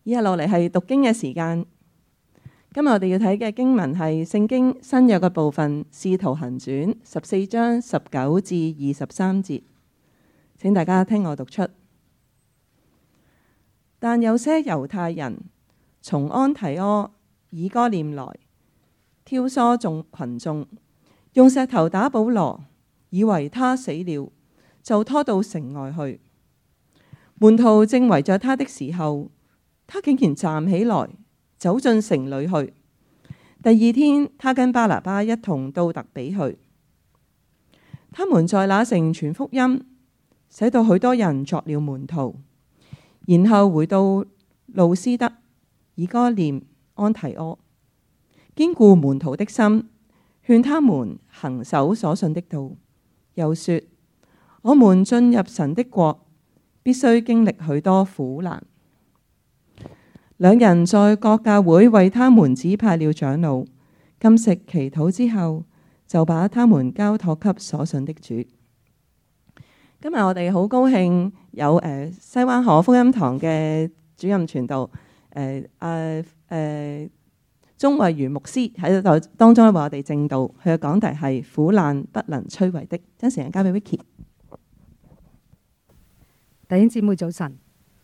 以下落嚟係讀經嘅時間。今日我哋要睇嘅經文係聖經新約嘅部分，《使徒行傳》14章19至23節。請大家聽我讀出。但有些猶太人從安提阿、以哥念來，挑唆群眾，用石頭打保羅，以為他死了，就拖到城外去。門徒正圍着他的時候，他竟然站起來，走進城裏去。第二天，他跟巴拿巴一同到特比去。他們在那城傳福音，使到許多人作了門徒。然後回到路斯德、以哥念、安提阿，堅固門徒的心，勸他們行守所信的道。又說：我們進入神的國，必須經歷許多苦難。兩人在各教會為他們指派了長老，禁食祈禱之後，就把他們交託給所信的主。今日我哋好高興有西灣河福音堂嘅主任傳道鍾慧如牧師喺度當中為我哋證道。佢嘅講題係苦難不能摧毀的。將時間交俾 Vicky。 弟兄姊妹早晨，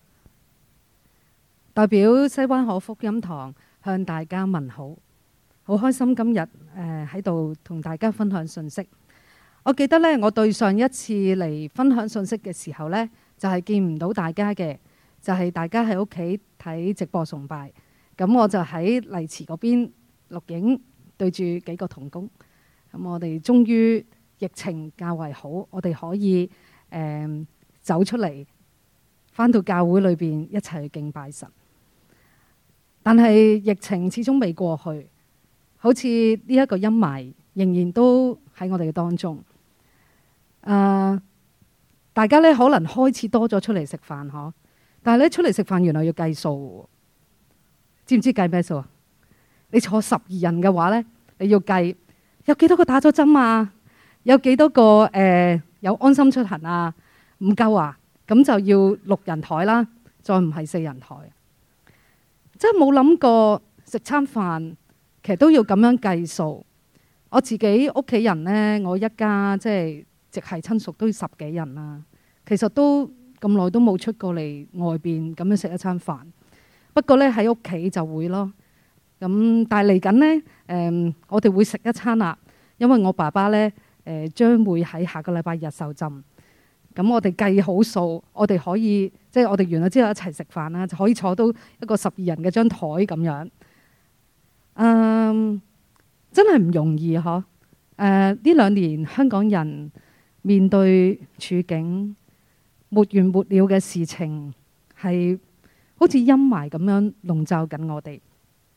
代表西灣河福音堂向大家問好，好開心今日喺度同大家分享信息。我記得呢，我對上一次嚟分享信息嘅時候呢，就係見唔到大家嘅，就係大家喺屋企睇直播崇拜。咁我就喺麗池嗰邊錄影，對住幾個同工。咁我哋終於疫情較為好，我哋可以走出嚟，返到教會裏邊一齊去敬拜神。但係疫情始終未過去，好似呢一個陰霾仍然都喺我哋嘅當中。大家咧可能開始多咗出嚟食飯嗬，但係咧出嚟食飯原來要計數，知唔知計咩數啊？你坐12人嘅話咧，你要計有幾多個打咗針啊？有幾多個有安心出行啊？唔夠啊？咁就要6人台啦，再唔係4人台。真係冇諗過食餐飯其實都要咁樣計數。我自己屋企人呢，我一家即係直系親屬都10幾人啦。其實都咁耐都冇出過嚟外邊咁樣食一餐飯。不過呢，喺屋企就會咯。咁但係嚟緊呢，我哋會食一餐啦。因為我爸爸呢，將會喺下個禮拜日受浸。咁我哋計好數，我哋可以即係我哋完咗之後一齊食飯啦，就可以坐到一個12人嘅張台咁樣。真係唔容易嗬。呢2年香港人面對處境沒完沒了嘅事情，係好似陰霾咁樣籠罩緊我哋。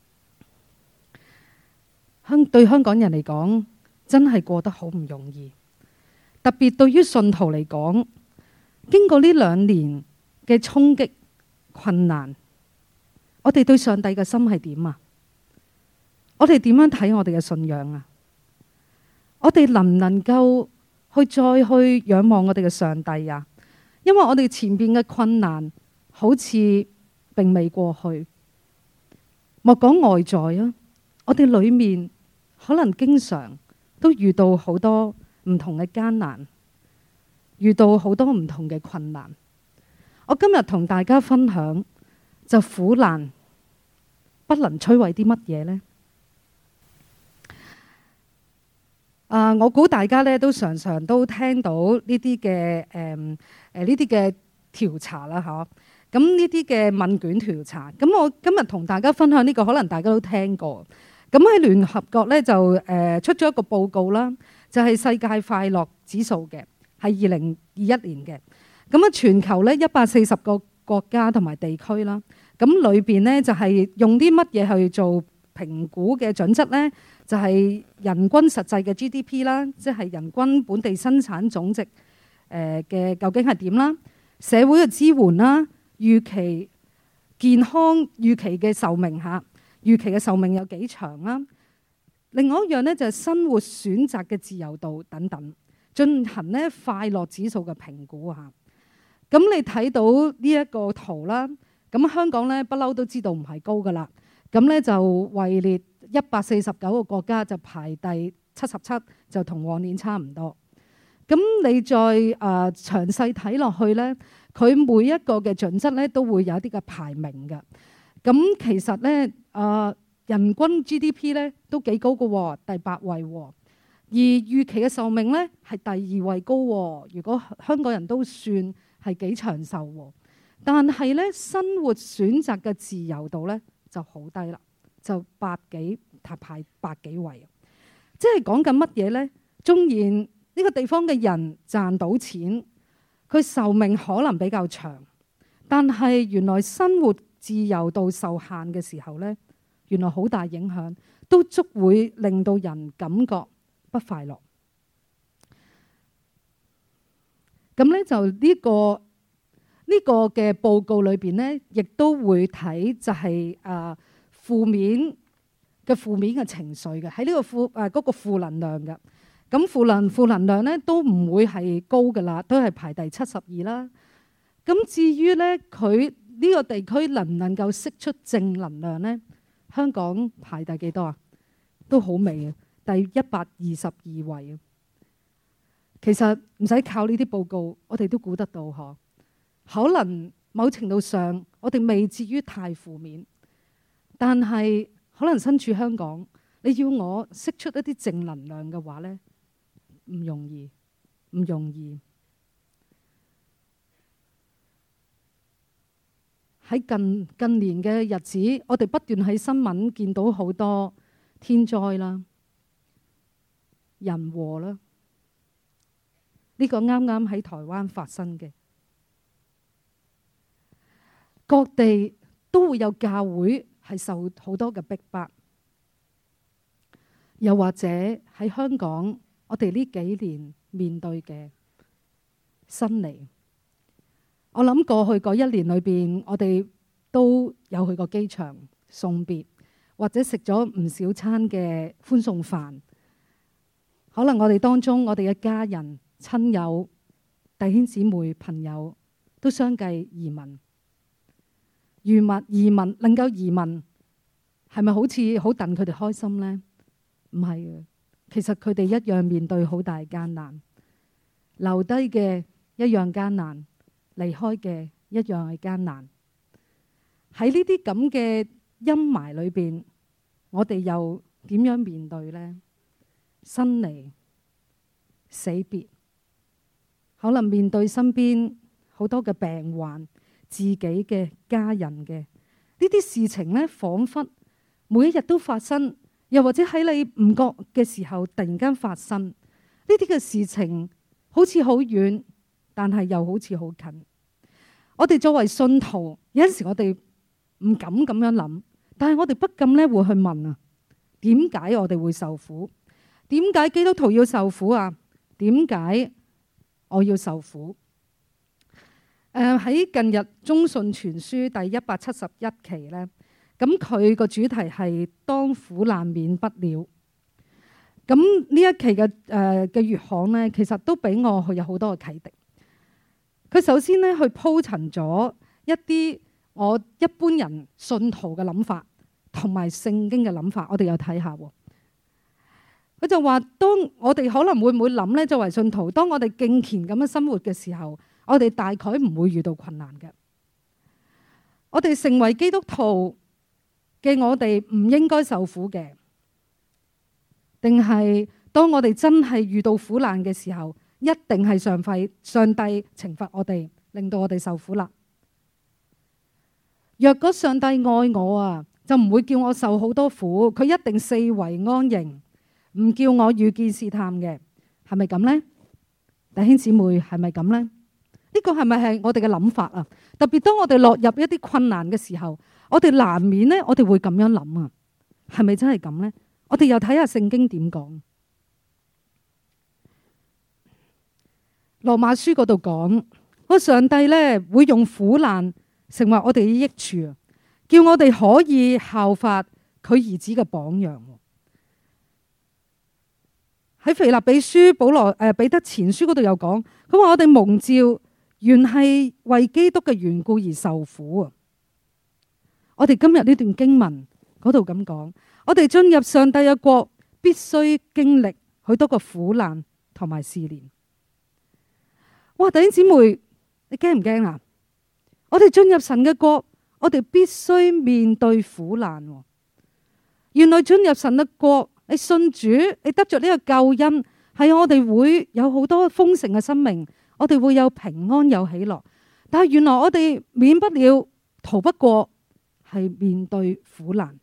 對香港人嚟講，真係過得好唔容易。特別對於信徒嚟講，經過呢2年嘅衝擊困難，我哋對上帝嘅心係點啊？我哋點樣睇我哋嘅信仰啊？我哋能唔能夠再去仰望我哋嘅上帝啊？因為我哋前邊嘅困難好似並未過去，莫講外在啊，我哋裏面可能經常都遇到好多唔同嘅艱難，遇到好多唔同嘅困難。我今日同大家分享，就苦難不能摧毀啲乜嘢呢？我估大家咧都常常都聽到呢啲嘅呢啲嘅調查啦，嗬。咁呢啲嘅問卷調查，咁我今日同大家分享呢個，可能大家都聽過。咁喺聯合國咧就出咗一個報告啦，就係世界快樂指數嘅，係2021年嘅。咁啊，全球咧140個國家同埋地區啦，咁裏邊咧就係用啲乜嘢去做評估嘅準則咧？就係人均實際嘅 GDP 啦，即係人均本地生產總值嘅究竟係點啦？社會嘅支援啦，預期健康預期嘅壽命嚇，預期嘅壽命有幾長啦？另外一樣咧就係生活選擇嘅自由度等等，進行咧快樂指數嘅評估嚇。咁你睇到呢一個圖啦， 咁香港咧不嬲都知道唔係高噶啦。咁咧就位列149個國家，就排第77，就同往年差唔多。咁你再詳細睇落去咧，佢每一個嘅準則咧都會有一啲嘅排名嘅。咁其實咧人均 GDP 咧都幾高嘅喎，第8位喎。而預期嘅壽命咧係第2位高喎。如果香港人都算係幾長壽喎，但係咧生活選擇嘅自由度咧就好低啦，就排百幾位。即係講緊乜嘢咧？縱然呢個地方嘅人賺到錢，佢壽命可能比較長，但係原來生活自由度受限嘅時候咧，原來好大影響，都足會令到人感覺不快樂。咁咧就呢個嘅報告裏邊咧，亦都會睇就係負面嘅情緒嘅，喺呢個嗰個負能量嘅。咁負能量咧都唔會係高噶啦，都係排第72啦。咁至於咧佢呢個地區能唔能夠釋出正能量咧？香港排第幾多啊？都好微啊，第122位啊。其實唔使靠呢啲報告，我哋都估得到嗬。可能某程度上我哋未至於太負面，但係可能身處香港，你要我釋出一啲正能量嘅話咧，唔容易，唔容易。喺近年嘅日子，我哋不斷喺新聞見到好多天災啦、人禍啦。呢個啱啱喺台灣發生嘅，各地都會有教會係受好多嘅逼迫，又或者喺香港，我哋呢幾年面對嘅新嚟。我諗過去嗰1年裏邊，我哋都有去過機場送別，或者食咗唔少餐嘅歡送飯。可能我哋當中，我哋嘅家人、親友、弟兄姊妹、朋友都相繼移民。移民能夠移民，係咪好似好戥佢哋開心呢？唔係嘅，其實佢哋一樣面對好大艱難，留低嘅一樣艱難，離開嘅一樣係艱難。喺呢啲咁嘅陰霾裏邊，我哋又點樣面對呢？生離死別，可能面對身邊好多嘅病患，自己嘅家人嘅呢啲事情呢，彷彿每一日都發生，又或者喺你唔覺嘅時候突然間發生。呢啲嘅事情好似好遠，但係又好似好近。我哋作為信徒，有陣時我哋唔敢咁樣諗，但係我哋不禁咧會去問啊，點解我哋會受苦？點解基督徒要受苦啊？點解我要受苦？喺近日中信傳書第171期呢，咁佢個主題係當苦難免不了。咁呢一期嘅月刊呢，其實都俾我有好多嘅啟迪。佢首先呢，去鋪陳咗一啲我一般人信徒嘅諗法，同埋聖經嘅諗法，我哋有睇下。佢就話，當我哋可能會唔會諗呢？作為信徒，當我哋敬虔咁樣生活嘅時候，我哋大概唔會遇到困難嘅。我哋成為基督徒嘅，我哋唔應該受苦嘅，定係當我哋真係遇到苦難嘅時候，一定係上帝懲罰我哋，令到我哋受苦啦。若果上帝愛我啊，就唔會叫我受好多苦，佢一定四圍安營，唔叫我遇見試探嘅，係咪咁呢？弟兄姊妹，係咪咁呢？呢個係咪係我哋嘅諗法啊？特別當我哋落入一啲困難嘅時候，我哋難免呢，我哋會咁樣諗啊，係咪真係咁呢？我哋又睇下聖經點講。羅馬書嗰度講，個上帝呢會用苦難成為我哋嘅益處啊，叫我哋可以效法佢兒子嘅榜樣。喺腓立比書彼得前書嗰度有講，佢話我哋蒙召原係為基督嘅緣故而受苦啊。 我哋今日呢段經文嗰度咁講，我哋進入上帝嘅國，必須經歷許多個苦難同埋試煉。哇！弟兄姊妹，你驚唔驚啊？我哋進入神嘅國，我哋必須面對苦難。原來進入神嘅國，你信主，你得着呢個救恩，係我哋會有好多豐盛嘅生命，我哋會有平安有喜樂。但係原來我哋免不了逃不過係面對苦難。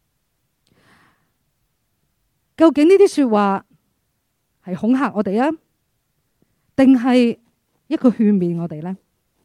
究竟呢啲說話係恐嚇我哋啊，定係一個勸勉我哋呢？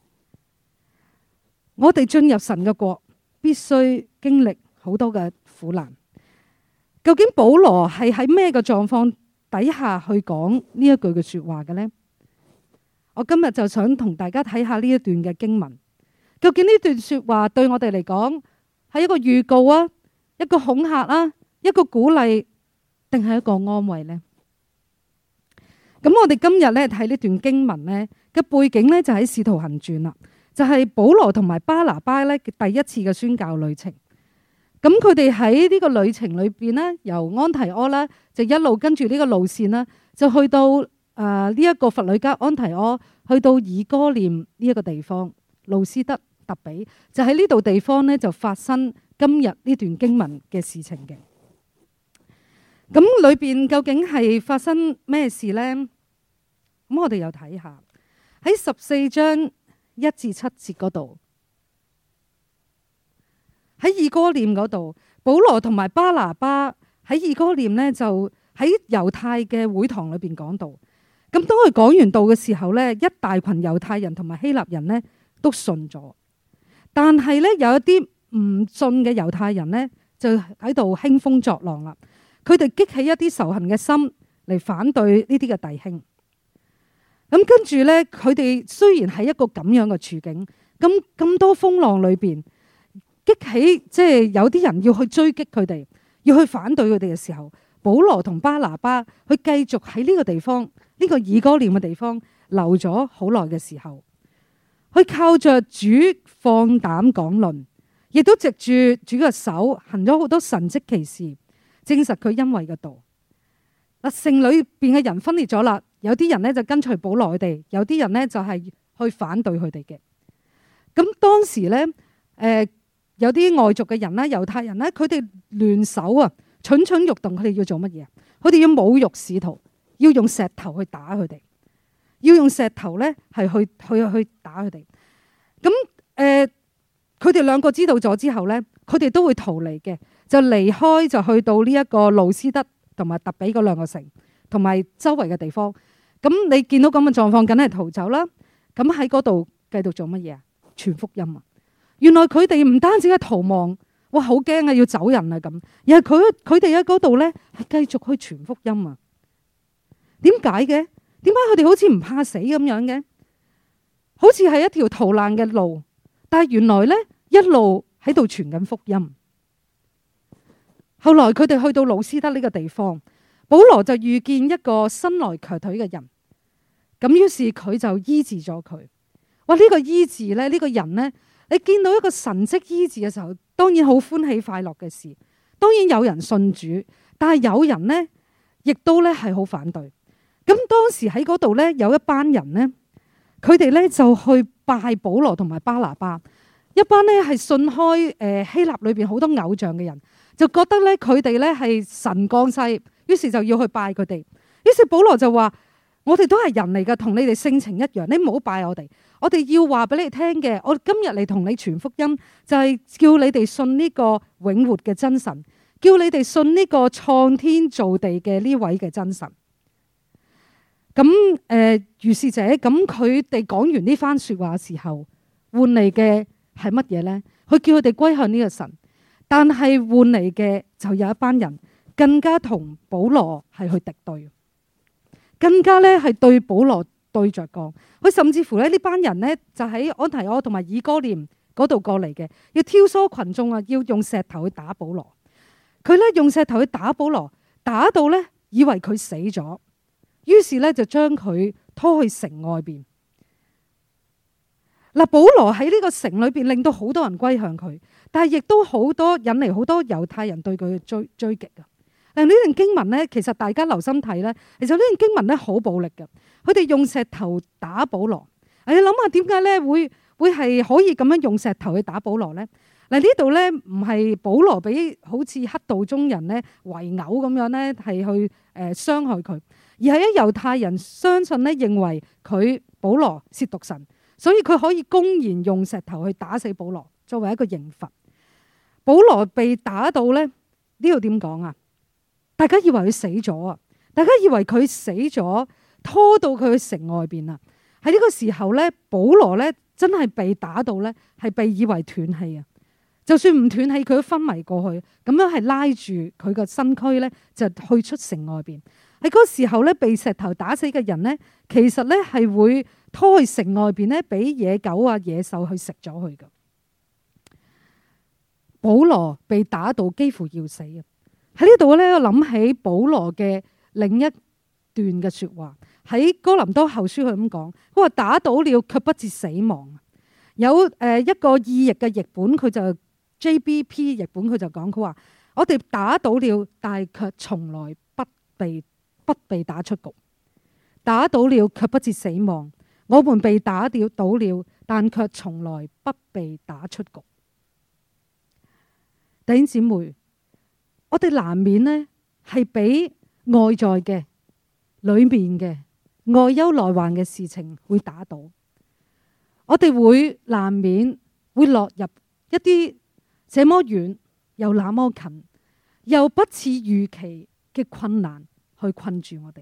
我哋進入神嘅國，必須經歷好多嘅苦難。究竟保羅係喺咩嘅狀況底下去講呢一句嘅說話嘅呢？我今日就想同大家睇下呢一段嘅經文。究竟呢段說話對我哋嚟講係一個預告啊，一個恐嚇啊，一個鼓勵，定係一個安慰呢？咁我哋今日咧睇呢段經文咧嘅背景咧就喺《使徒行傳》啦，就係保羅同埋巴拿巴咧第一次嘅宣教旅程。咁佢哋喺呢個旅程裏邊咧，由安提阿咧就一路跟住呢個路線啦，就去到呢一個弗呂家安提阿，去到以哥念呢一個地方，路斯德特比，就喺呢度地方咧就發生今日呢段經文嘅事情嘅。咁裏邊究竟係發生咩事呢？咁我哋又睇下喺14章1至7節嗰度，喺以哥念嗰度，保羅同埋巴拿巴喺以哥念呢，就喺猶太嘅會堂裏邊講道。咁當佢講完道嘅時候呢，一大群猶太人同埋希臘人呢都信咗，但係呢，有一啲唔信嘅猶太人呢，就喺度興風作浪啦。佢哋激起一啲仇恨嘅心嚟反對呢啲嘅弟兄。咁跟住呢，佢哋雖然係一個咁樣嘅處境，咁多風浪裏邊，激起即係有啲人要去追擊佢哋，要去反對佢哋嘅時候，保羅同巴拿巴佢繼續喺呢個地方，呢個以哥念嘅地方留咗好耐嘅時候，佢靠着主放膽講論，亦都藉住主嘅手行咗好多神蹟奇事，證實佢恩惠嘅道。嗱，城裏邊嘅人分裂咗啦，有啲人呢就跟隨保羅佢哋，有啲人呢就係去反對佢哋嘅。咁當時呢，有啲外族嘅人啦，猶太人呢，佢哋聯手啊，蠢蠢欲動，佢哋要做乜嘢？佢哋要侮辱使徒，要用石頭去打佢哋，要用石頭呢係去打佢哋。咁佢哋兩個知道咗之後呢，佢哋都會逃離嘅，就離開，就去到呢一個路斯德同埋特比嗰兩個城，同埋周圍嘅地方。咁你見到咁嘅狀況，梗係逃走啦。咁喺嗰度繼續做乜嘢啊？傳福音啊！原來佢哋唔單止係逃亡，哇，好驚啊，要走人啊咁。而係佢哋喺嗰度咧，係繼續去傳福音啊。點解嘅？點解佢哋好似唔怕死咁樣嘅？好似係一條逃難嘅路，但係原來咧一路喺度傳緊福音。後來佢哋去到路斯德呢個地方，保羅就遇見一個生來瘸腿嘅人，咁於是佢就醫治咗佢。哇！呢個醫治咧，呢個人呢，你見到一個神蹟醫治嘅時候，當然好歡喜快樂嘅事。當然有人信主，但係有人呢，亦都咧係好反對。咁當時喺嗰度呢，有一班人呢，佢哋呢就去拜保羅同埋巴拿巴，一班呢係信開希臘裏邊好多偶像嘅人。就覺得咧佢哋咧係神降世，於是就要去拜佢哋。於是保羅就話：我哋都係人嚟噶，同你哋性情一樣，你唔好拜我哋。我哋要話俾你聽嘅，我今日嚟同你傳福音，就係叫你哋信呢個永活嘅真神，叫你哋信呢個創天造地嘅呢位嘅真神。咁如是者，咁佢哋講完呢番說話嘅時候，換嚟嘅係乜嘢呢？佢叫佢哋歸向呢個神。但係換嚟嘅就有一班人更加同保羅係去敵對，更加咧係對保羅對着幹。佢甚至乎咧呢班人呢，就喺安提阿同埋以哥念嗰度過嚟嘅，要挑唆群眾啊，要用石頭去打保羅。佢咧用石頭去打保羅，打到咧以為佢死咗，於是咧就將佢拖去城外邊。 嗱，保羅喺呢個城裏邊令到好多人歸向佢，但係亦都引嚟好多猶太人對佢嘅追擊啊！嗱，呢段經文咧，其實大家留心睇咧，其實呢段經文咧好暴力嘅，佢哋用石頭打保羅。你諗下點解咧會係可以咁樣用石頭去打保羅咧？嗱，呢度咧唔係保羅俾好似黑道中人咧圍毆咁樣咧係去傷害佢，而係喺猶太人相信咧認為佢保羅褻瀆神，所以佢可以公然用石頭去打死保羅作為一個刑罰。保羅被打到咧，呢度點講啊？大家以為佢死咗啊！大家以為佢死咗，拖到佢去城外邊啊！喺呢個時候咧，保羅咧真係被打到咧，係被以為斷氣啊！就算唔斷氣，佢都昏迷過去，咁樣係拉住佢個身軀咧，就去出城外邊。喺嗰個時候咧，被石頭打死嘅人咧，其實咧係會拖去城外邊咧，俾野狗啊、野獸去食咗佢噶。保羅被打到幾乎要死啊！喺呢度咧，我諗起保羅嘅另一段嘅說話，喺哥林多後書佢咁講，佢話打倒了卻不至死亡。有一個意譯嘅譯本，佢就 JBP 譯本，佢就講，佢話我哋打倒了，但係卻從來不被打出局。打倒了卻不至死亡，我們被打倒了，但卻從來不被打出局。弟兄姊妹，我哋難免呢係俾外在嘅、裏面嘅外憂內患嘅事情會打倒，我哋會難免會落入一啲這麼遠又那麼近又不似預期嘅困難去困住我哋。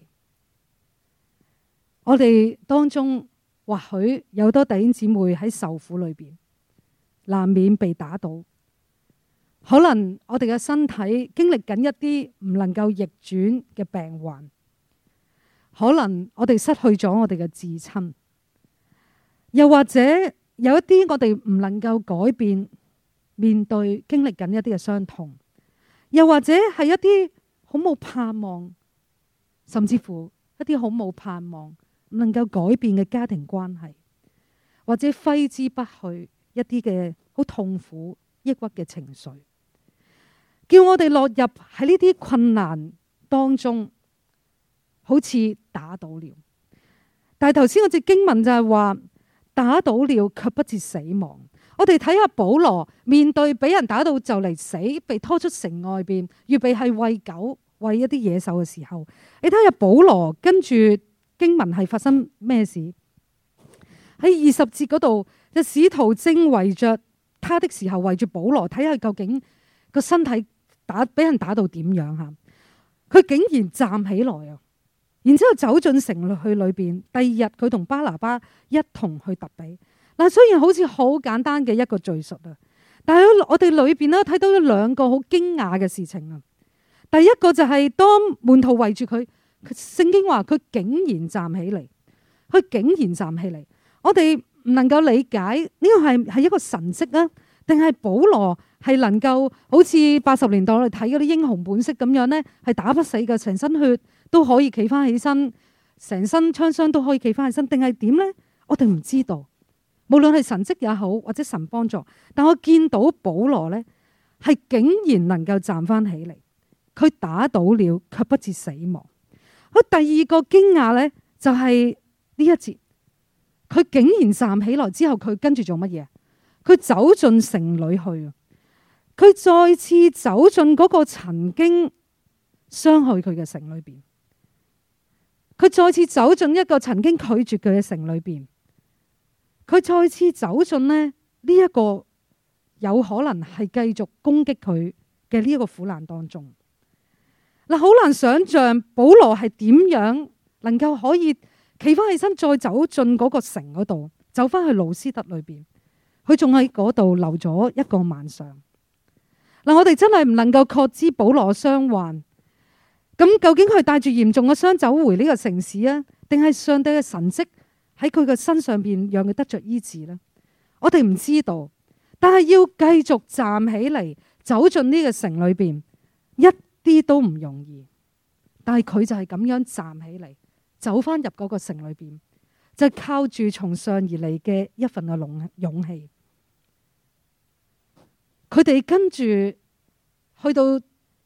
我哋當中或許有多弟兄姊妹喺受苦裏邊，難免被打倒。可能我哋嘅身體經歷緊一啲唔能夠逆轉嘅病患，可能我哋失去咗我哋嘅至親，又或者有一啲我哋唔能夠改變，面對經歷緊一啲嘅傷痛，又或者係一啲好冇盼望，甚至乎一啲好冇盼望唔能夠改變嘅家庭關係，或者揮之不去一啲嘅好痛苦抑鬱嘅情緒，叫我哋落入喺呢啲困難當中，好似打倒了。但係頭先嗰節經文就係話打倒了卻不至死亡。我哋睇下保羅面對俾人打到就嚟死，被拖出城外邊，預備係餵狗餵一啲野獸嘅時候，你睇下保羅跟住經文係發生咩事？喺20節嗰度，就使徒正圍着他的時候，圍住保羅睇下究竟個身體俾人打到點樣吓？佢竟然站起來啊！然之後走進城去裏邊。第二日佢同巴拿巴一同去特比。嗱，雖然好似好簡單嘅一個敘述啊，但係我哋裏邊咧睇到咗兩個好驚訝嘅事情啊。第一個就係當門徒圍住佢，聖經話佢竟然站起嚟，佢竟然站起嚟。我哋唔能夠理解呢個係一個神蹟啊，定係保羅係能夠好似80年代我哋睇嗰啲英雄本色咁樣呢，係打不死嘅，成身血都可以企翻起身，成身槍傷都可以企翻起身，定係點呢？我哋唔知道。無論係神蹟也好，或者神幫助，但我見到保羅呢，係竟然能夠站翻起嚟，佢打倒了卻不至死亡。佢第二個驚訝呢，就係呢一節，佢竟然站起來之後，佢跟住做乜嘢？佢走進城裏去，佢再次走進嗰個曾經傷害佢嘅城裏邊，佢再次走進一個曾經拒絕佢嘅城裏邊。佢再次走進呢一個有可能係繼續攻擊佢嘅呢一個苦難當中。嗱，好難想象保羅係點樣能夠可以企翻起身，再走進嗰個城嗰度，走翻去路斯德裏邊。佢仲喺嗰度留咗一個晚上。嗱，我哋真係唔能夠確知保羅傷患。咁究竟佢帶住嚴重嘅傷走回呢個城市啊，定係上帝嘅神蹟喺佢嘅身上邊讓佢得着醫治呢？我哋唔知道，但係要繼續站起嚟，走進呢個城裏邊，一啲都唔容易。但係佢就係咁樣站起嚟，走翻入嗰個城裏邊， 就係靠住從上而嚟嘅一份嘅勇氣。佢哋跟住去到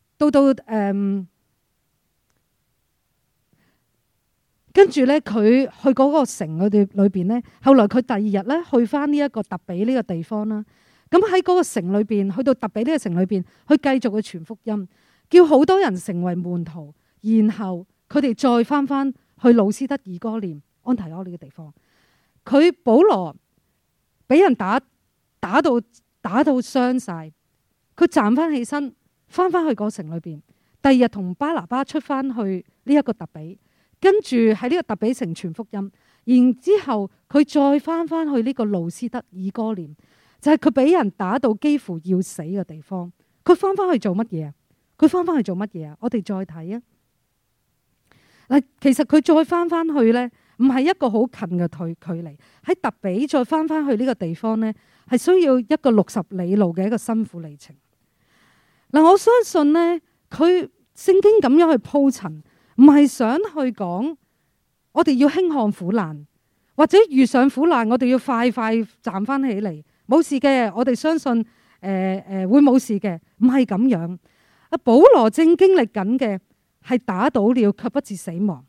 跟住咧，佢去嗰個城裏邊咧，後來佢第二日咧去翻呢一個特比呢個地方啦。咁喺嗰個城裏邊，去到特比呢個城裏邊，去繼續去傳福音，叫好多人成為門徒，然後佢哋再翻去路斯德、以哥念、安提阿呢個地方。佢保羅俾人打到傷晒，佢站翻起身，翻去嗰城裏邊。第二日同巴拿巴出翻去呢一個特比。跟住喺呢個特比城傳福音，然之後佢再翻去呢個路斯德、以哥念，就係佢俾人打到幾乎要死嘅地方。佢翻去做乜嘢啊？我哋再睇啊！嗱，其實佢再翻去呢，唔係一個好近嘅距離。喺特比再翻去呢個地方呢，係需要一個60里路嘅一個辛苦里程。嗱，我相信呢，佢聖經咁樣去鋪陳。唔係想去講，我哋要輕看苦難，或者遇上苦難，我哋要快站翻起嚟，冇事嘅。我哋相信會冇事嘅，唔係咁樣。阿保羅正經歷緊嘅係打倒了卻不致死亡，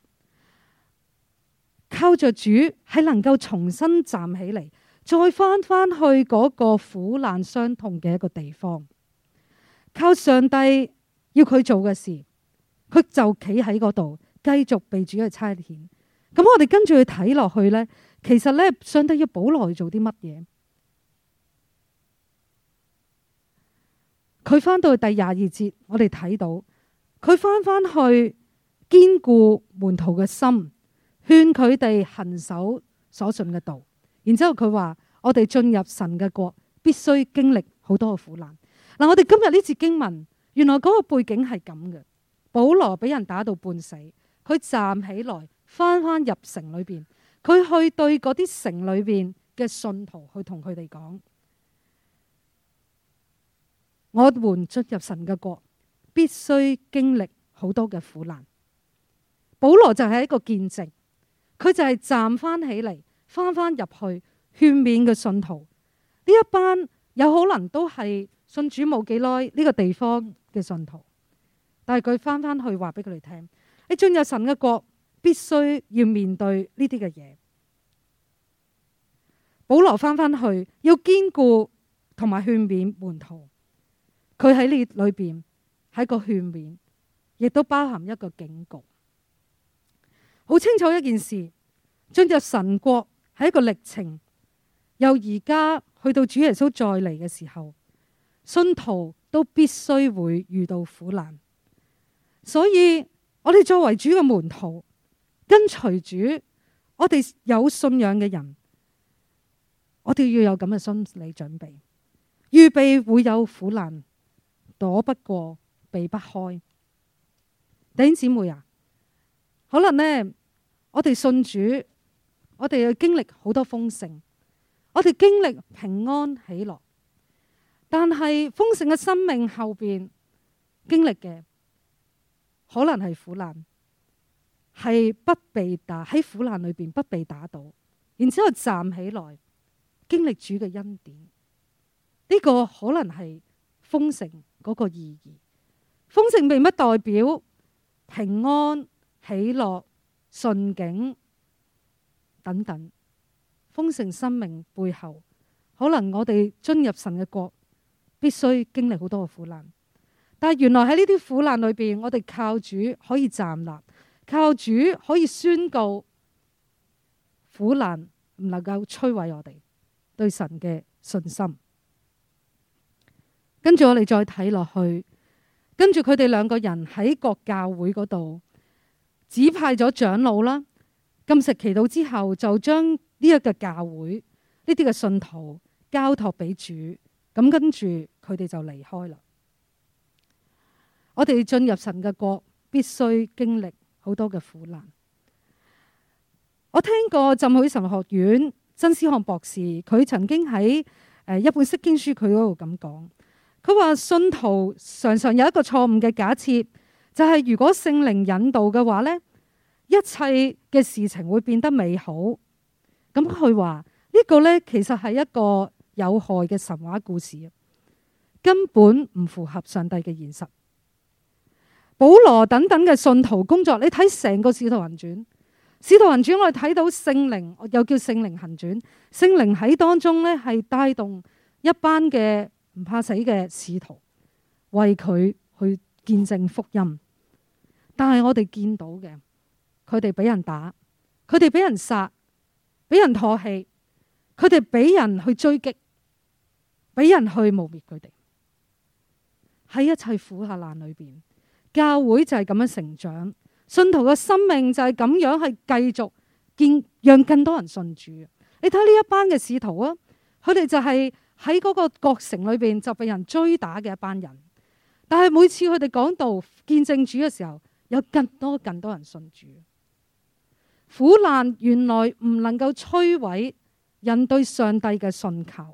靠着主係能夠重新站起嚟，再翻去嗰個苦難傷痛嘅一個地方，靠上帝要佢做嘅事。佢就企喺嗰度，繼續被主去差遣。咁我哋跟住去睇落去呢，其實呢，上帝要保羅去做啲乜嘢？佢翻到去第22節，我哋睇到佢翻去堅固門徒嘅心，勸佢哋行守所信嘅道。然之後佢話：我哋進入神嘅國，必須經歷好多嘅苦難。嗱，我哋今日呢節經文，原來嗰個背景係咁嘅。保羅俾人打到半死，佢站起來翻入城裏邊，佢去對嗰啲城裏邊嘅信徒去同佢哋講：我們進入神嘅國，必須經歷好多嘅苦難。保羅就係一個見證，佢就係站翻起嚟，翻入去勸勉嘅信徒。呢一班有可能都係信主冇幾耐呢個地方嘅信徒。但係佢翻去話俾佢哋聽，你進入神嘅國，必須要面對呢啲嘅嘢。保羅翻去要堅固同埋勸勉門徒，佢喺呢裏邊係一個勸勉，亦都包含一個警告。好清楚一件事，進入神國係一個歷程，由而家去到主耶穌再嚟嘅時候，信徒都必須會遇到苦難。所以我哋作為主嘅門徒，跟隨主，我哋有信仰嘅人，我哋要有咁嘅心理準備，預備會有苦難，躲不過，避不開。弟兄姊妹啊，可能呢，我哋信主，我哋要經歷好多豐盛，我哋經歷平安喜樂，但係豐盛嘅生命後邊經歷嘅，可能係苦難，係不被打，喺苦難裏邊不被打倒，然之後站起來經歷主嘅恩典。呢個可能係豐盛嗰個意義。豐盛並不代表平安、喜樂、順境等等。豐盛生命背後，可能我哋進入神嘅國，必須經歷好多嘅苦難。但係原來喺呢啲苦難裏邊，我哋靠主可以站立，靠主可以宣告苦難唔能夠摧毀我哋對神嘅信心。跟住我哋再睇落去，跟住佢哋兩個人喺各教會嗰度指派咗長老啦，禁食祈禱之後，就將呢一個教會呢啲嘅信徒交託俾主。咁跟住佢哋就離開啦。我哋進入神嘅國，必須經歷好多嘅苦難。我聽過浸會神學院曾思翰博士，佢曾經喺一本釋經書佢嗰度咁講，佢話信徒常常有一個錯誤嘅假設，就係如果聖靈引導嘅話呢，一切嘅事情會變得美好， 咁佢話呢個呢，其實係一個有害嘅神話故事，根本唔符合上帝嘅現實。保羅等等嘅信徒工作，你睇成個使徒行傳，使徒行傳我哋睇到聖靈，又叫聖靈行傳，聖靈喺當中呢，係帶動一班嘅唔怕死嘅使徒為佢去見證福音。但係我哋見到嘅，佢哋俾人打，佢哋俾人殺，俾人唾棄，佢哋俾人去追擊，俾人去誣衊佢哋。喺一切苦下難裏邊，教會就係咁樣成長，信徒嘅生命就係咁樣係繼續讓更多人信主。你睇呢一班嘅使徒啊，佢哋就係喺嗰個國城裏邊就被人追打嘅一班人，但係每次佢哋講道見證主嘅時候，有更多人信主。苦難原來唔能夠摧毀人對上帝嘅信靠。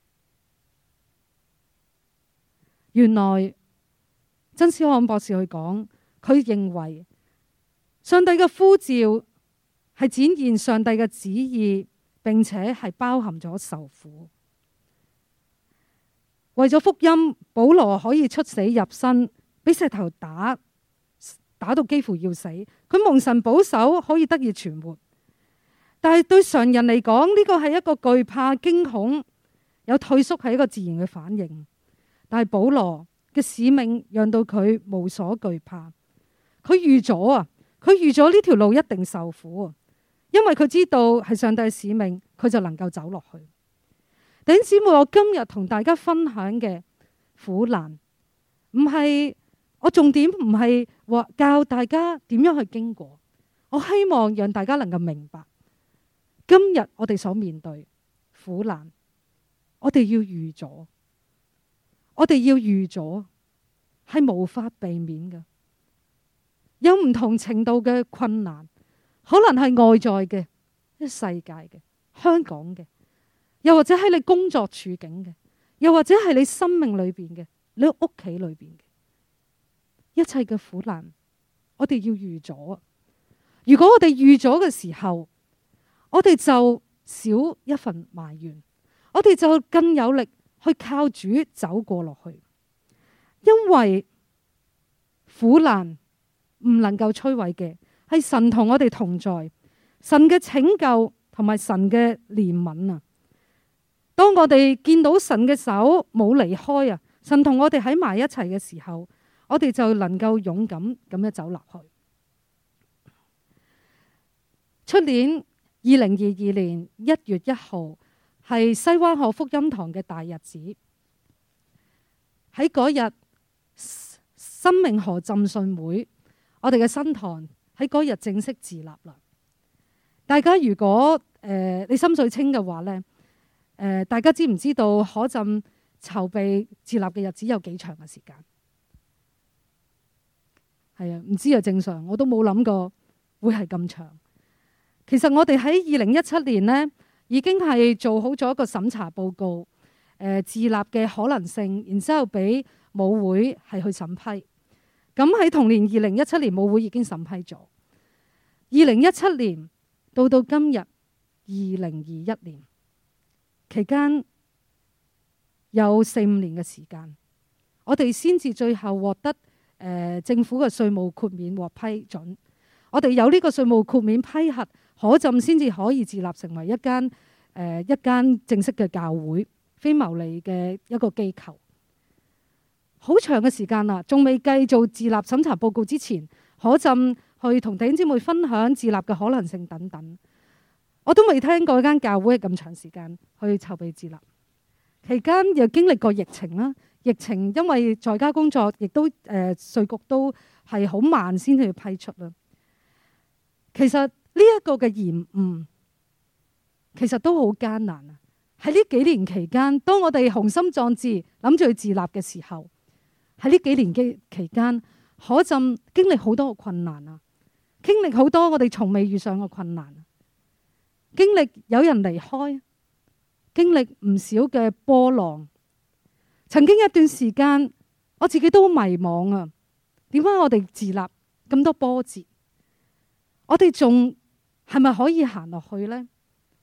原來曾思漢博士去講，佢認為上帝嘅呼召係展現上帝嘅旨意，並且係包含咗受苦。為咗福音，保羅可以出死入生，俾石頭打到幾乎要死，佢蒙神保守可以得以存活。但係對常人嚟講，呢個係一個懼怕、驚恐、有退縮，係一個自然嘅反應。但係保羅嘅使命讓到佢無所懼怕，佢預咗呢條路一定受苦，因為佢知道係上帝嘅使命，佢就能夠走落去。弟兄姊妹，我今日同大家分享嘅苦難，我重點唔係話教大家點樣去經過，我希望讓大家能夠明白，今日我哋所面對苦難，我哋要預咗，係無法避免嘅。有唔同程度嘅困難，可能係外在嘅、世界嘅、香港嘅，又或者喺你工作處境嘅，又或者係你生命裏邊嘅、你屋企裏邊嘅一切嘅苦難，我哋要預咗。如果我哋預咗嘅時候，我哋就少一份埋怨，我哋就更有力去靠主走過落去。因為苦難唔能夠摧毀嘅係神同我哋同在，神嘅拯救同埋神嘅憐憫啊！當我哋見到神嘅手冇離開啊，神同我哋喺埋一齊嘅時候，我哋就能夠勇敢咁樣走落去。出年2022年1月1號係西灣河福音堂嘅大日子。喺嗰日生命河浸信會，我哋嘅新堂喺嗰日正式自立啦。大家如果你心水清嘅話呢，大家知唔知道可浸籌備自立嘅日子有幾長嘅時間？係啊，唔知啊，正常我都冇諗過會係咁長。其實我哋喺2017年呢已經係做好咗一個審查報告，自立嘅可能性，然之後俾母會係去審批。咁喺同年2017年母會已經審批咗。2017年到今日2021年期間有4-5年嘅時間，我哋先至最後獲得政府嘅稅務豁免獲批准。我哋有呢個稅務豁免批核，可浸先至可以自立成為一間正式嘅教會，非牟利嘅一個機構。好長嘅時間啦，仲未計做自立審查報告之前，可浸去同弟兄姊妹分享自立嘅可能性等等。我都未聽過一間教會係咁長時間去籌備自立。期間又經歷過疫情啦，疫情因為在家工作，亦都稅局都係好慢先去批出啦。其實呢一個嘅延誤，其實都好艱難啊！喺呢幾年期間，當我哋雄心壯志諗住去自立嘅時候，喺呢幾年嘅期間，可浸經歷好多嘅困難啊，經歷好多我哋從未遇上嘅困難，經歷有人離開，經歷唔少嘅波浪。曾經一段時間，我自己都好迷茫啊！點解我哋自立咁多波折？我哋仲係咪可以行落去呢？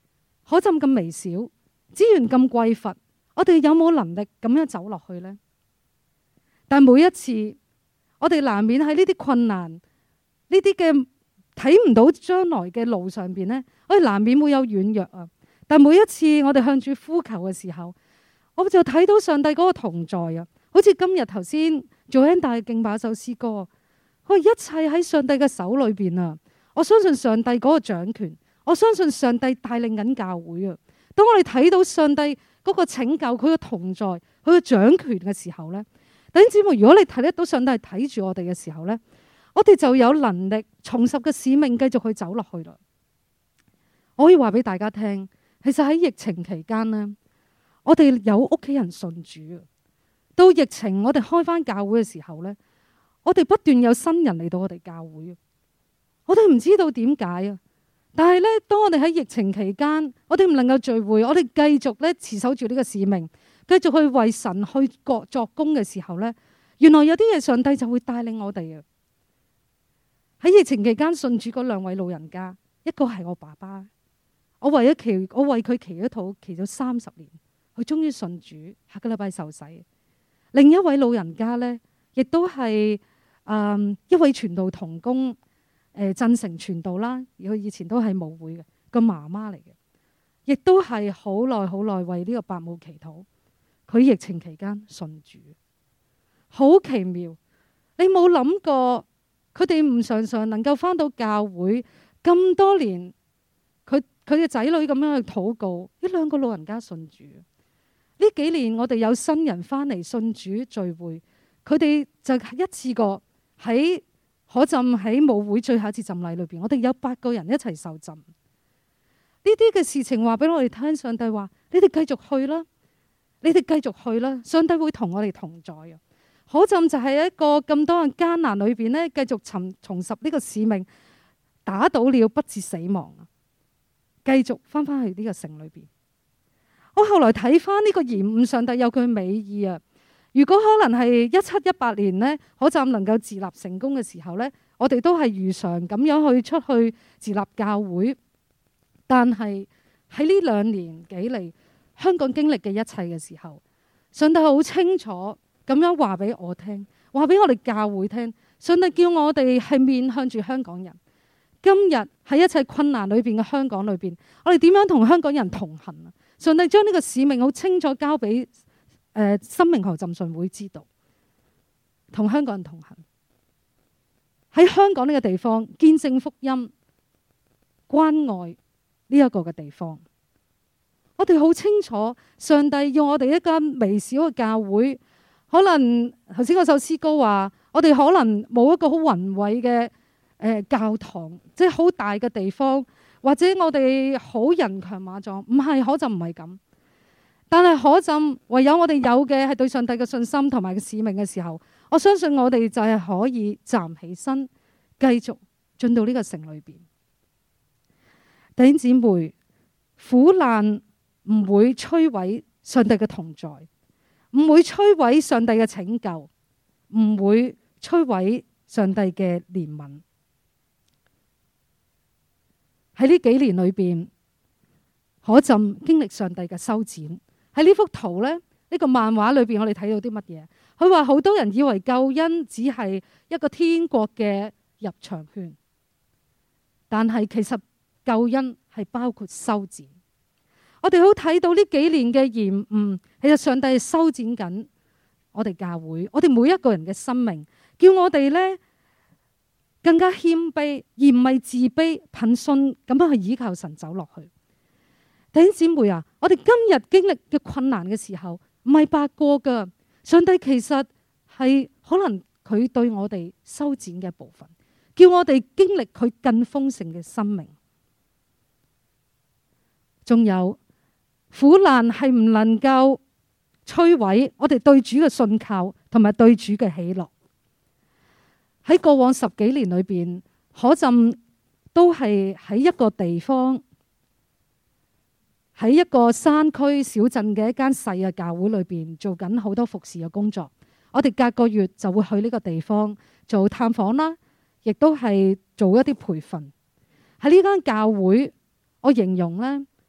可浸咁微小，資源咁匱乏，我哋有冇能力咁樣走落去呢？但每一次我哋難免喺呢啲困難、呢啲嘅睇唔到將來嘅路上邊呢，我哋難免會有軟弱啊。但每一次我哋向住呼求嘅時候，我就睇到上帝嗰個同在啊。好似今日頭先做緊大敬拜首詩歌，佢一切喺上帝嘅手裏邊啊。我相信上帝嗰個掌權，我相信上帝帶領緊教會啊。當我哋睇到上帝嗰個拯救，佢嘅同在，佢嘅掌權嘅時候呢，弟兄姊妹，如果你睇得到上帝係睇住我哋嘅時候呢，我哋就有能力重拾嘅使命，繼續去走落去啦。我可以話俾大家聽，其實喺疫情期間呢，我哋有屋企人信主啊。到疫情我哋開翻教會嘅時候呢，我哋不斷有新人嚟到我哋教會，我哋唔知道點解啊。但係呢，當我哋喺疫情期間，我哋唔能夠聚會，我哋繼續咧持守住呢個使命，繼續去為神去作工嘅時候呢，原來有啲嘢上帝就會帶領我哋啊。喺疫情期間信主嗰2位老人家，一個係我爸爸，我為佢祈咗禱，祈咗30年，佢終於信主，下個禮拜受洗。另一位老人家呢，亦都係一位傳道同工，鎮城傳道啦，佢以前都係母會嘅個媽媽嚟嘅，亦都係好耐為呢個伯母祈禱。佢疫情期間信主，好奇妙。你冇諗過佢哋唔常常能夠返到教會咁多年，佢嘅仔女咁樣去禱告，呢2個老人家信主。呢幾年我哋有新人翻嚟信主聚會，佢哋就一次過喺可浸喺母會最後一次浸禮裏邊，我哋有8個人一齊受浸。呢啲嘅事情話俾我哋聽，上帝話：你哋繼續去啦，你哋繼續去啦，上帝會同我哋同在啊！可浸就係一個咁多人艱難裏邊呢，繼續重拾呢個使命，打倒了不至死亡啊！繼續翻返去呢個城裏邊。我後來睇翻呢個延誤，上帝有佢美意啊！如果可能係17、18年呢，可浸能夠自立成功嘅時候呢，我哋都係如常咁樣去出去自立教會。但係喺呢2年幾嚟，香港經歷嘅一切嘅時候，上帝好清楚咁樣話俾我聽，話俾我哋教會聽。上帝叫我哋係面向住香港人。今日喺一切困難裏邊嘅香港裏邊，我哋點樣同香港人同行啊？上帝將呢個使命好清楚交俾生命河浸信會知道，同香港人同行，喺香港呢個地方見證福音、關愛呢一個嘅地方。我哋好清楚，上帝要我哋一間微小嘅教會。可能頭先嗰首詩歌話，我哋可能冇一個好宏偉嘅教堂，即係好大嘅地方。或者我哋好人強馬壯，唔係，可浸唔係咁。但係可浸唯有我哋有嘅係對上帝嘅信心同埋嘅使命嘅時候，我相信我哋就係可以站起身，繼續進到呢個城裏邊。弟兄姊妹，苦難唔會摧毀上帝嘅同在，唔會摧毀上帝嘅拯救，唔會摧毀上帝嘅憐憫。喺呢幾年裏邊，可浸經歷上帝嘅修剪。喺呢幅圖呢，呢個漫畫裏邊，我哋睇到啲乜嘢？佢話好多人以為救恩只係一個天國嘅入場券，但係其實救恩係包括修剪。我哋好睇到呢幾年嘅延誤，其實上帝係修剪緊我哋教會，我哋每一個人嘅生命，叫我哋呢更加謙卑，而唔係自卑憑信咁樣去依靠神走落去。弟兄姊妹啊，我哋今日經歷嘅困難嘅時候，唔係白過噶。上帝其實係可能佢對我哋修剪嘅部分，叫我哋經歷佢更豐盛嘅生命。仲有苦難係唔能夠摧毀我哋對主嘅信靠同埋對主嘅喜樂。喺過往10幾年裏邊，可浸都係喺一個地方，喺一個山區小鎮嘅一間細嘅教會裏邊做緊好多服侍嘅工作。我哋隔個月就會去呢個地方做探訪啦，亦都係做一啲培訓。喺呢間教會，我形容呢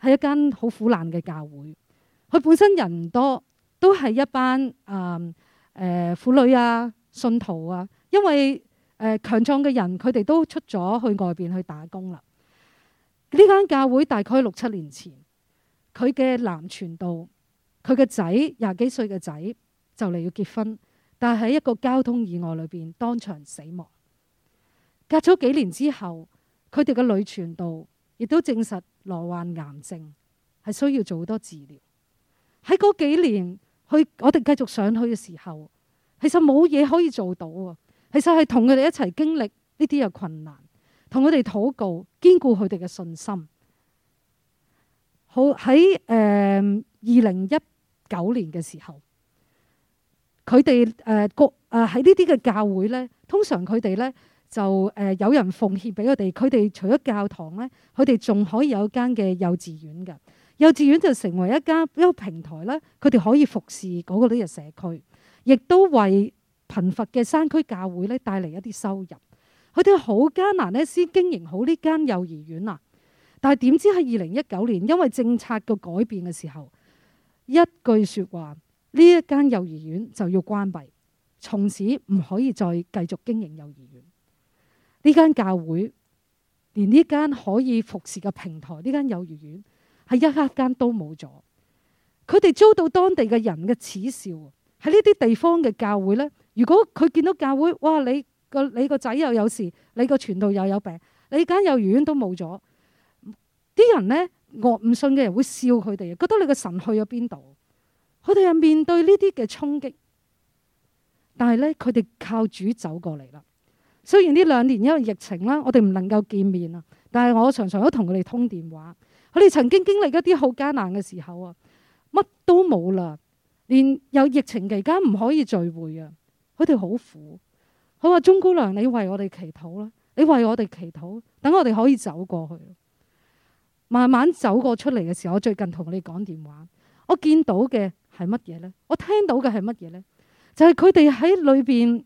係一間好苦難嘅教會。佢本身人唔多，都係一班婦女啊、信徒啊。因為強壯嘅人，佢哋都出咗去外邊去打工啦。呢間教會大概6、7年前，佢嘅男傳道，佢嘅仔20幾歲嘅仔就嚟要結婚，但係喺一個交通意外裏邊當場死亡。隔咗幾年之後，佢哋嘅女傳道亦都證實罹患癌症，係需要做好多治療。喺嗰幾年，我哋繼續上去嘅時候，其實冇嘢可以做到啊。其實係同佢哋一齊經歷呢啲嘅困難，同佢哋禱告，堅固佢哋嘅信心。好，喺2019年嘅時候，佢哋喺呢啲嘅教會呢，通常佢哋呢就有人奉獻俾佢哋。佢哋除咗教堂呢，佢哋仲可以有一間嘅幼稚園嘅。幼稚園就成為一個平台呢，佢哋可以服侍嗰個呢個社區，亦都為貧乏嘅山區教會咧帶嚟一啲收入。佢哋好艱難咧先經營好呢間幼兒園啊！但係點知喺2019年，因為政策嘅改變嘅時候，一句說話，呢一間幼兒園就要關閉，從此唔可以再繼續經營幼兒園。呢間教會連呢間可以服侍嘅平台，呢間幼兒園係一間都冇咗。佢哋遭到當地嘅人嘅恥笑。喺呢啲地方嘅教會呢，如果佢見到教會，哇！你個仔又有事，你個傳道又有病，你間幼兒園都冇咗，啲人呢，唔信嘅人會笑佢哋，覺得你個神去咗邊度？佢哋係面對呢啲嘅衝擊，但係呢，佢哋靠主走過嚟啦。雖然呢2年因為疫情啦，我哋唔能夠見面啊，但係我常常都同佢哋通電話。佢哋曾經經歷一啲好艱難嘅時候啊，乜都冇啦。連有疫情期間唔可以聚會啊，佢哋好苦。佢話：鍾姑娘，你為我哋祈禱啦，你為我哋祈禱，等我哋可以走過去。慢慢走過出嚟嘅時候，我最近同你講電話，我見到嘅係乜嘢呢？我聽到嘅係乜嘢呢？就係佢哋喺裏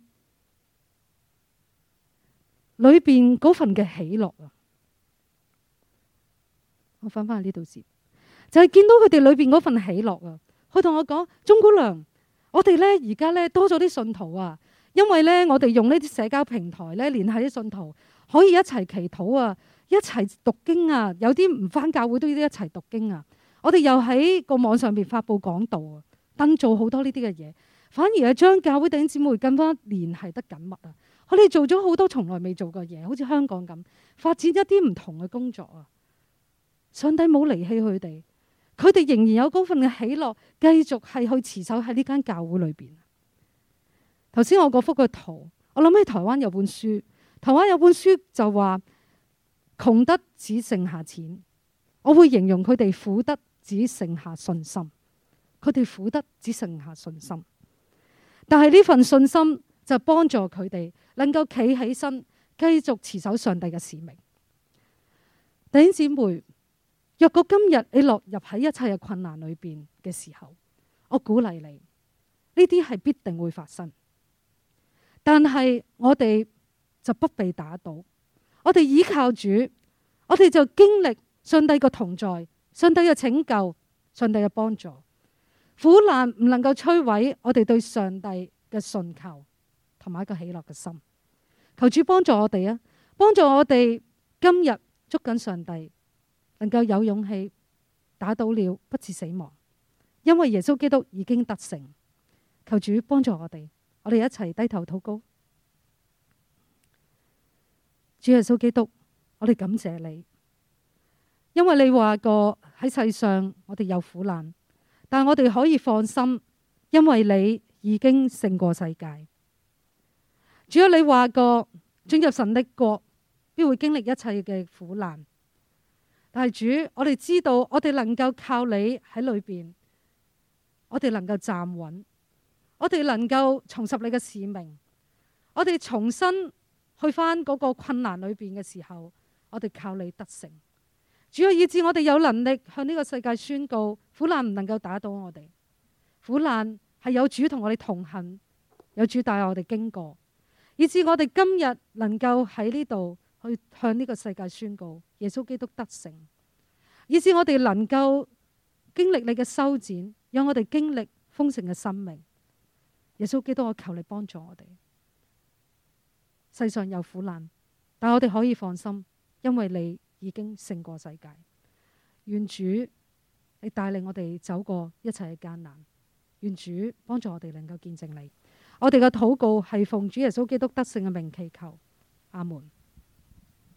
邊嗰份嘅喜樂啊！我翻返去呢度先，就係見到佢哋裏邊嗰份喜樂啊！佢同我講：鍾姑娘，我哋咧而家咧多咗啲信徒啊，因為咧我哋用呢啲社交平台咧聯繫啲信徒，可以一齊祈禱啊，一齊讀經啊，有啲唔返教會都要一齊讀經啊。我哋又喺個網上邊發佈講道啊，登做好多呢啲嘅嘢，反而係將教會弟兄姊妹更加聯繫得緊密啊。佢哋做咗好多從來未做過嘢，好似香港咁發展一啲唔同嘅工作啊。上帝冇離棄佢哋。佢哋仍然有嗰份嘅喜樂，繼續係去持守喺呢間教會裏邊。頭先我嗰幅嘅圖，我諗起台灣有本書，台灣有本書就話窮得只剩下錢，我會形容佢哋苦得只剩下信心。佢哋苦得只剩下信心，但係呢份信心就幫助佢哋能夠企起身，繼續持守上帝嘅使命。弟兄姊妹，若果今日你落入喺一切嘅困難裏邊嘅時候，我鼓勵你，呢啲係必定會發生。但係我哋就不被打倒，我哋依靠主，我哋就經歷上帝嘅同在，上帝嘅拯救，上帝嘅幫助。苦難唔能夠摧毀我哋對上帝嘅信求同埋一個喜樂嘅心。求主幫助我哋啊，幫助我哋今日捉緊上帝，能夠有勇氣打倒了，不致死亡，因為耶穌基督已經得勝。求主幫助我哋，我哋一齊低頭禱告。主耶穌基督，我哋感謝你，因為你話過喺世上我哋有苦難，但我哋可以放心，因為你已經勝過世界。主啊，你話過進入神的國必會經歷一切嘅苦難，但係主，我哋知道我哋能夠靠你喺裏邊，我哋能夠站穩，我哋能夠重拾你嘅使命，我哋重新去返嗰個困難裏邊嘅時候，我哋靠你得勝。主啊，以致我哋有能力向呢個世界宣告，苦難唔能夠打倒我哋，苦難係有主同我哋同行，有主帶我哋經過，以致我哋今日能夠喺呢度去向呢個世界宣告耶穌基督得勝。 以致我哋能夠經歷你嘅修剪，讓我哋經歷豐盛嘅生命。耶穌基督，我求你幫助我哋。世上有苦難，但我哋可以放心，因為你已經勝過世界。願主你帶領我哋走過一切嘅艱難，願主幫助我哋能夠見證你。我哋嘅禱告係奉主耶穌基督得勝嘅名祈求，阿門。